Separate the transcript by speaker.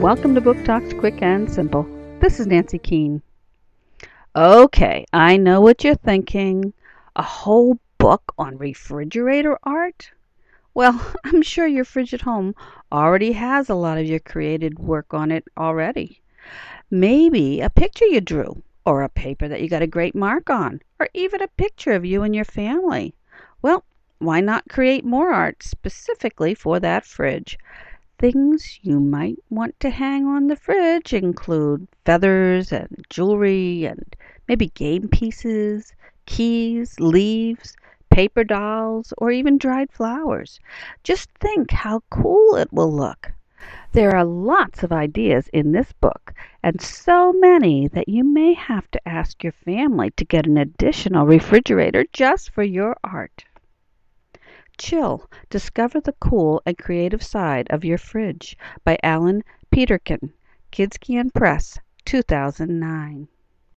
Speaker 1: Welcome to Book Talks Quick and Simple. This is Nancy Keene. Okay, I know what you're thinking. A whole book on refrigerator art? Well, I'm sure your fridge at home already has a lot of your created work on it already. Maybe a picture you drew, or a paper that you got a great mark on, or even a picture of you and your family. Well, why not create more art specifically for that fridge? Things you might want to hang on the fridge include feathers and jewelry and maybe game pieces, keys, leaves, paper dolls, or even dried flowers. Just think how cool it will look. There are lots of ideas in this book, and so many that you may have to ask your family to get an additional refrigerator just for your art. Chill, discover the cool and creative side of your fridge by Alan Peterkin, Kids Can Press, 2009.